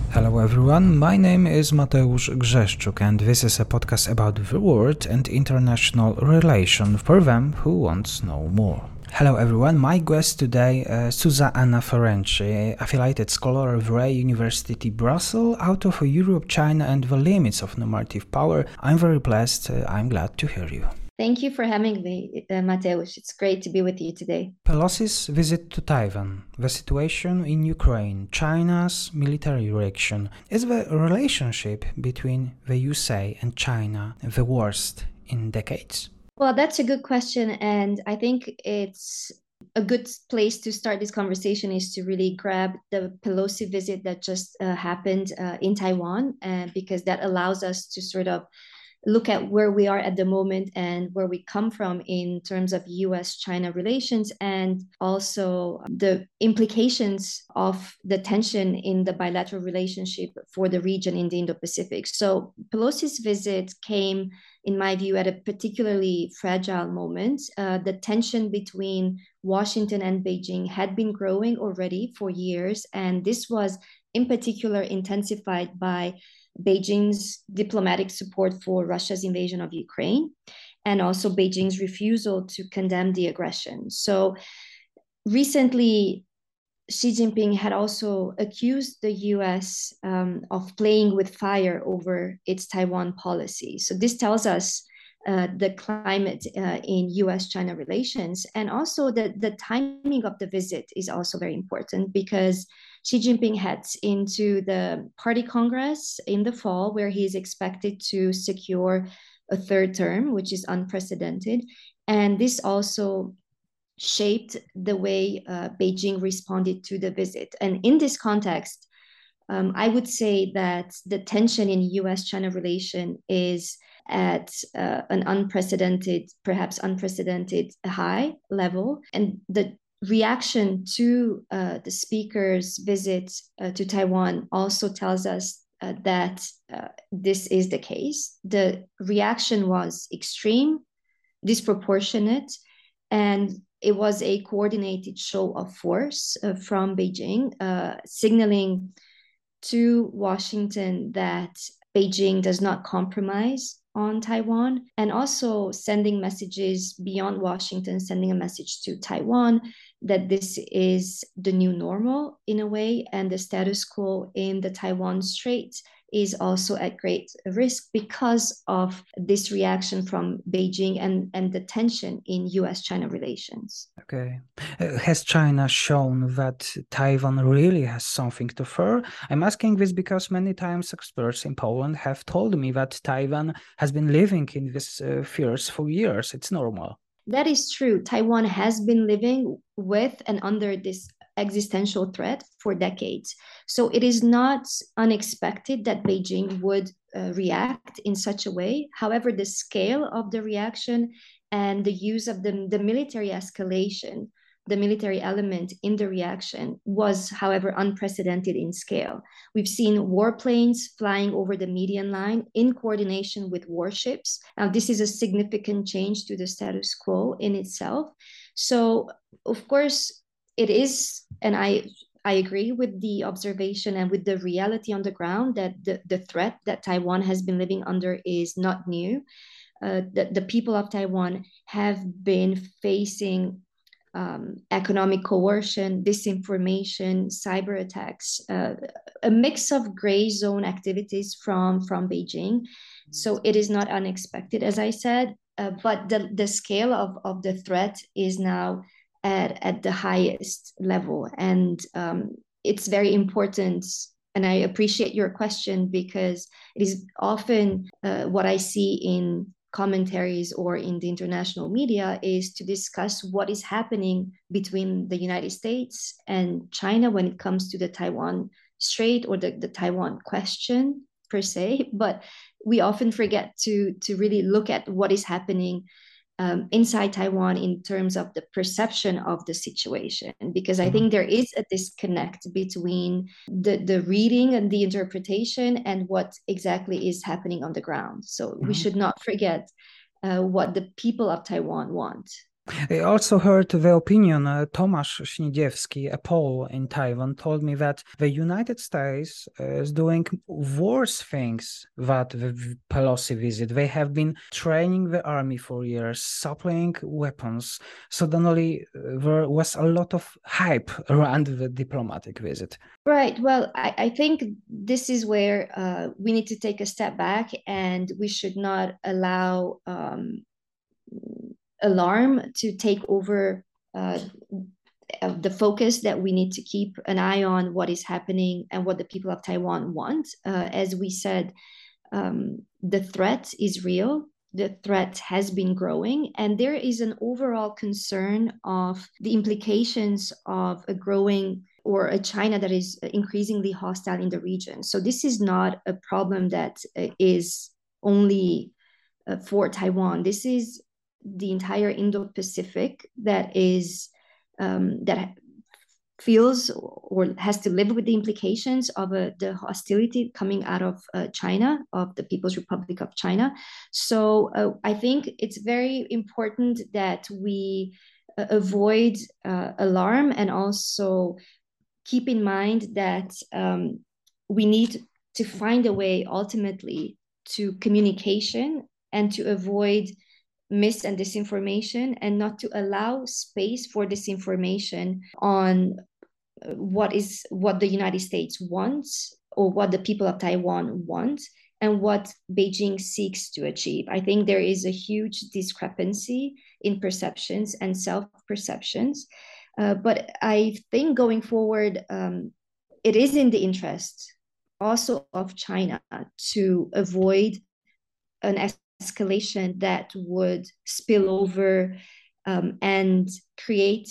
Hello everyone, my name is Mateusz Grzeszczuk and this is a podcast about the world and international relation for them who want to know more. Hello everyone, my guest today Zuzanna Ferenczi, affiliated scholar of Ray University Brussels, author of Europe, China and the Limits of Normative Power. I'm very blessed, I'm glad to hear you. Thank you for having me, Mateusz. It's great to be with you today. Pelosi's visit to Taiwan, the situation in Ukraine, China's military reaction. Is the relationship between the USA and China the worst in decades? Well, that's a good question. And I think it's a good place to start this conversation is to really grab the Pelosi visit that just happened in Taiwan, because that allows us to sort of look at where we are at the moment and where we come from in terms of US-China relations, and also the implications of the tension in the bilateral relationship for the region in the Indo-Pacific. So Pelosi's visit came, in my view, at a particularly fragile moment. The tension between Washington and Beijing had been growing already for years, and this was in particular intensified by Beijing's diplomatic support for Russia's invasion of Ukraine, and also Beijing's refusal to condemn the aggression. So recently, Xi Jinping had also accused the US of playing with fire over its Taiwan policy. So this tells us the climate in US-China relations, and also the timing of the visit is also very important, because Xi Jinping heads into the Party Congress in the fall, where he is expected to secure a third term, which is unprecedented. And this also shaped the way Beijing responded to the visit. And in this context, I would say that the tension in US-China relation is at an perhaps unprecedented high level. And the reaction to the speaker's visit to Taiwan also tells us that this is the case. The reaction was extreme, disproportionate, and it was a coordinated show of force from Beijing, signaling to Washington that Beijing does not compromise on Taiwan, and also sending messages beyond Washington, sending a message to Taiwan that this is the new normal in a way, and the status quo in the Taiwan Strait is also at great risk because of this reaction from Beijing and the tension in US-China relations. Okay. Has China shown that Taiwan really has something to fear? I'm asking this because many times experts in Poland have told me that Taiwan has been living in this fears for years. It's normal. That is true. Taiwan has been living with and under this existential threat for decades. So it is not unexpected that Beijing would react in such a way. However, the scale of the reaction and the use of the military escalation, the military element in the reaction was, however, unprecedented in scale. We've seen warplanes flying over the median line in coordination with warships. Now, this is a significant change to the status quo in itself. So, of course, it is, and I agree with the observation and with the reality on the ground that the threat that Taiwan has been living under is not new. The people of Taiwan have been facing economic coercion, disinformation, cyber attacks, a mix of gray zone activities from Beijing. So it is not unexpected, as I said, but the scale of the threat is now at the highest level. And it's very important. And I appreciate your question, because it is often what I see in commentaries or in the international media is to discuss what is happening between the United States and China when it comes to the Taiwan Strait or the Taiwan question per se. But we often forget to really look at what is happening inside Taiwan in terms of the perception of the situation, because I think there is a disconnect between the reading and the interpretation and what exactly is happening on the ground. So we should not forget what the people of Taiwan want. I also heard the opinion. Tomasz Śnidziewski, a Pole in Taiwan, told me that the United States is doing worse things than the Pelosi visit. They have been training the army for years, supplying weapons. Suddenly, there was a lot of hype around the diplomatic visit. Right. Well, I think this is where we need to take a step back, and we should not allow alarm to take over the focus, that we need to keep an eye on what is happening and what the people of Taiwan want. As we said, the threat is real. The threat has been growing, and there is an overall concern of the implications of a growing or a China that is increasingly hostile in the region. So this is not a problem that is only for Taiwan. This is the entire Indo-Pacific that is that feels or has to live with the implications of the hostility coming out of China, of the People's Republic of China. So I think it's very important that we avoid alarm, and also keep in mind that we need to find a way ultimately to communication and to avoid mis and disinformation, and not to allow space for disinformation on what the United States wants, or what the people of Taiwan want, and what Beijing seeks to achieve. I think there is a huge discrepancy in perceptions and self-perceptions. But I think going forward, it is in the interest also of China to avoid an escalation that would spill over and create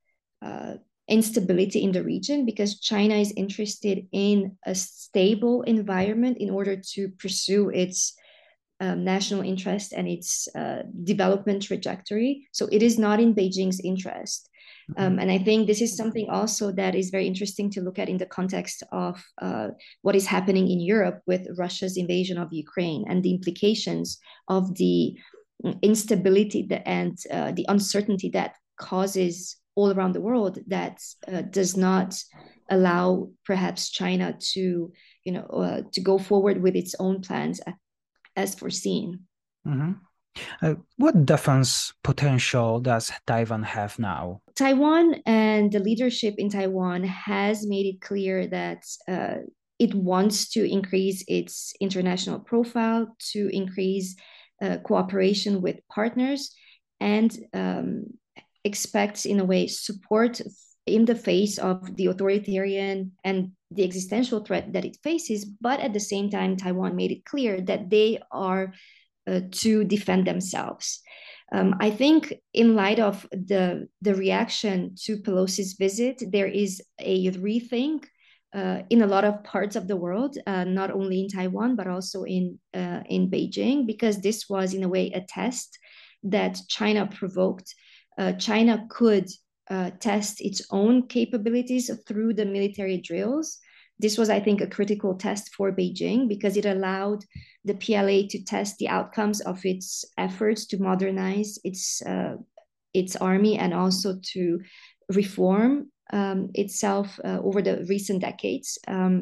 instability in the region, because China is interested in a stable environment in order to pursue its national interest and its development trajectory. So it is not in Beijing's interest. And I think this is something also that is very interesting to look at in the context of what is happening in Europe with Russia's invasion of Ukraine, and the implications of the instability and the uncertainty that causes all around the world, that does not allow perhaps China to, to go forward with its own plans as foreseen. Mm-hmm. What defense potential does Taiwan have now? Taiwan and the leadership in Taiwan has made it clear that it wants to increase its international profile, to increase cooperation with partners, and expects, in a way, support in the face of the authoritarian and the existential threat that it faces. But at the same time, Taiwan made it clear that they are to defend themselves. I think in light of the reaction to Pelosi's visit, there is a rethink in a lot of parts of the world, not only in Taiwan, but also in Beijing, because this was, in a way, a test that China provoked. China could test its own capabilities through the military drills. This was, I think, a critical test for Beijing, because it allowed the PLA to test the outcomes of its efforts to modernize its army, and also to reform itself over the recent decades.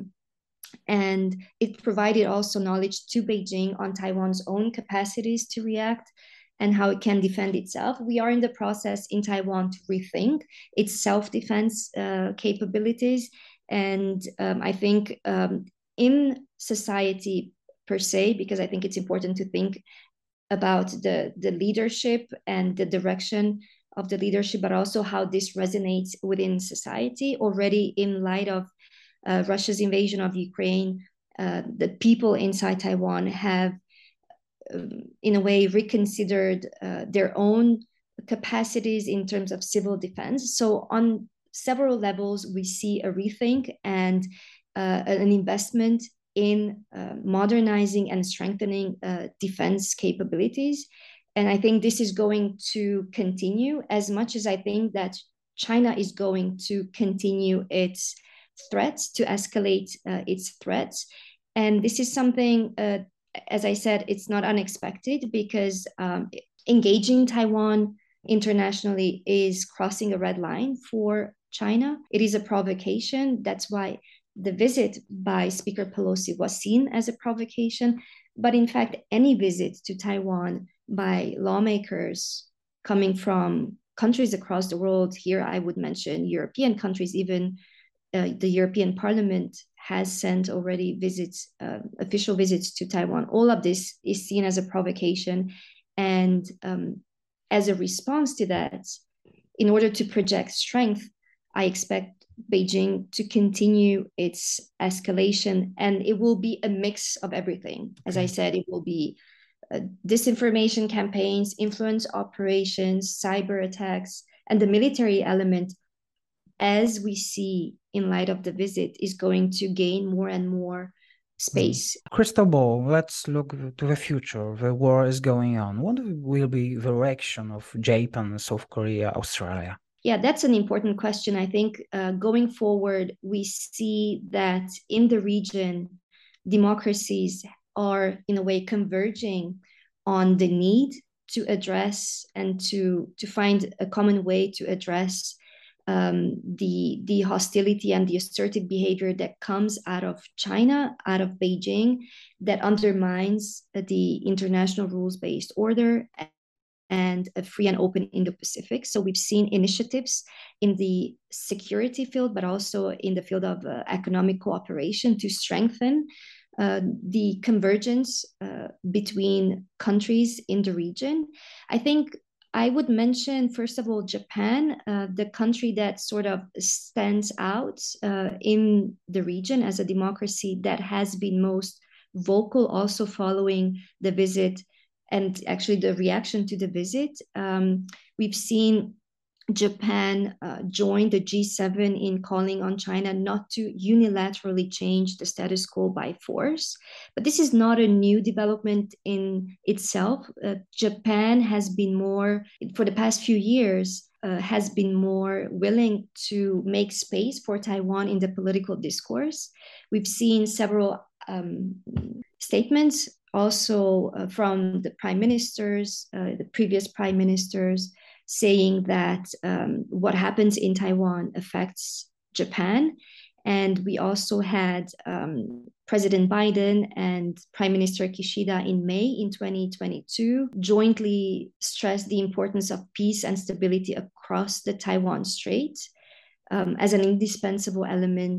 And it provided also knowledge to Beijing on Taiwan's own capacities to react and how it can defend itself. We are in the process in Taiwan to rethink its self-defense capabilities. And I think in society per se, because I think it's important to think about the leadership and the direction of the leadership, but also how this resonates within society. Already, in light of Russia's invasion of Ukraine, the people inside Taiwan have, in a way, reconsidered their own capacities in terms of civil defense. So on several levels, we see a rethink and an investment in modernizing and strengthening defense capabilities. And I think this is going to continue, as much as I think that China is going to continue its threats, to escalate its threats. And this is something, as I said, it's not unexpected, because engaging Taiwan internationally is crossing a red line for China. It is a provocation. That's why the visit by Speaker Pelosi was seen as a provocation. But in fact, any visit to Taiwan by lawmakers coming from countries across the world, here I would mention European countries, even the European Parliament has sent already visits, official visits to Taiwan. All of this is seen as a provocation. And as a response to that, in order to project strength, I expect Beijing to continue its escalation, and it will be a mix of everything. As I said, it will be disinformation campaigns, influence operations, cyber attacks, and the military element, as we see in light of the visit, is going to gain more and more space. Crystal ball, let's look to the future. The war is going on. What will be the reaction of Japan, South Korea, Australia? Yeah, that's an important question. I think going forward, we see that in the region, democracies are in a way converging on the need to address and to find a common way to address the hostility and the assertive behavior that comes out of China, out of Beijing, that undermines the international rules-based order and a free and open Indo-Pacific. So we've seen initiatives in the security field, but also in the field of economic cooperation to strengthen the convergence between countries in the region. I think I would mention, first of all, Japan, the country that sort of stands out in the region as a democracy that has been most vocal, also following the visit and actually the reaction to the visit. We've seen Japan join the G7 in calling on China not to unilaterally change the status quo by force. But this is not a new development in itself. Japan has been more, for the past few years, has been more willing to make space for Taiwan in the political discourse. We've seen several statements also from the prime ministers, the previous prime ministers, saying that what happens in Taiwan affects Japan. And we also had President Biden and Prime Minister Kishida in May in 2022 jointly stressed the importance of peace and stability across the Taiwan Strait as an indispensable element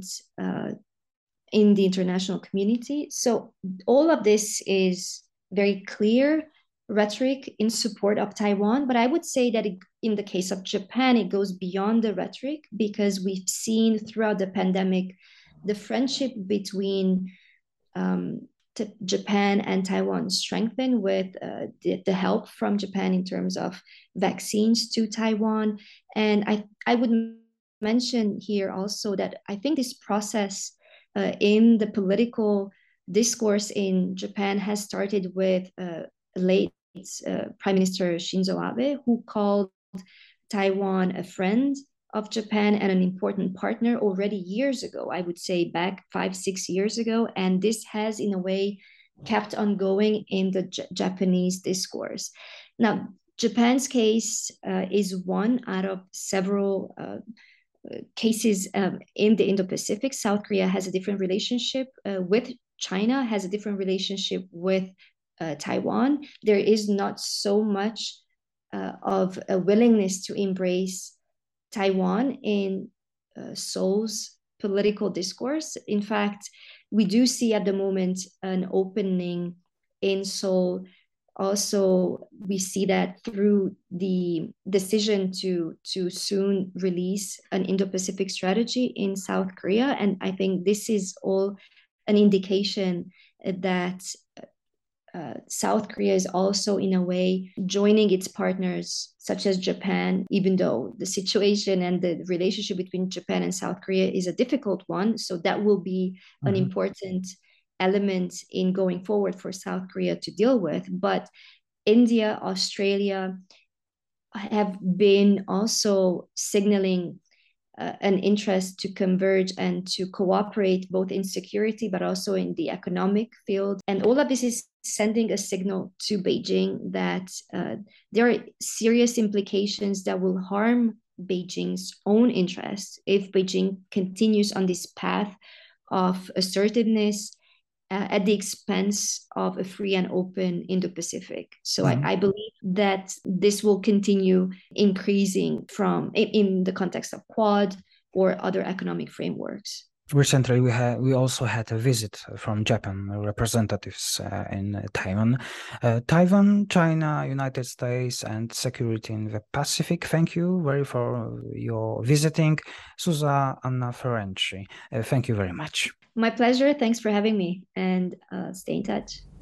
in the international community. So all of this is very clear rhetoric in support of Taiwan, but I would say that in the case of Japan, it goes beyond the rhetoric, because we've seen throughout the pandemic the friendship between Japan and Taiwan strengthen with the help from Japan in terms of vaccines to Taiwan. And I would mention here also that I think this process in the political discourse in Japan has started with late Prime Minister Shinzo Abe, who called Taiwan a friend of Japan and an important partner already years ago, I would say back 5-6 years ago. And this has, in a way, kept on going in the Japanese discourse. Now, Japan's case is one out of several cases in the Indo-Pacific. South Korea has a different relationship with China, has a different relationship with Taiwan. There is not so much of a willingness to embrace Taiwan in Seoul's political discourse. In fact, we do see at the moment an opening in Seoul. Also, we see that through the decision to soon release an Indo-Pacific strategy in South Korea. And I think this is all an indication that South Korea is also, in a way, joining its partners, such as Japan, even though the situation and the relationship between Japan and South Korea is a difficult one. So that will be an important element in going forward for South Korea to deal with. But India, Australia have been also signaling an interest to converge and to cooperate both in security but also in the economic field. And all of this is sending a signal to Beijing that there are serious implications that will harm Beijing's own interests if Beijing continues on this path of assertiveness at the expense of a free and open Indo-Pacific. So I believe that this will continue increasing in the context of Quad or other economic frameworks. Recently, we also had a visit from Japan representatives in Taiwan. Taiwan, China, United States, and security in the Pacific. Thank you for your visiting, Susa Anna Ferenczi. Thank you very much. My pleasure. Thanks for having me, and stay in touch.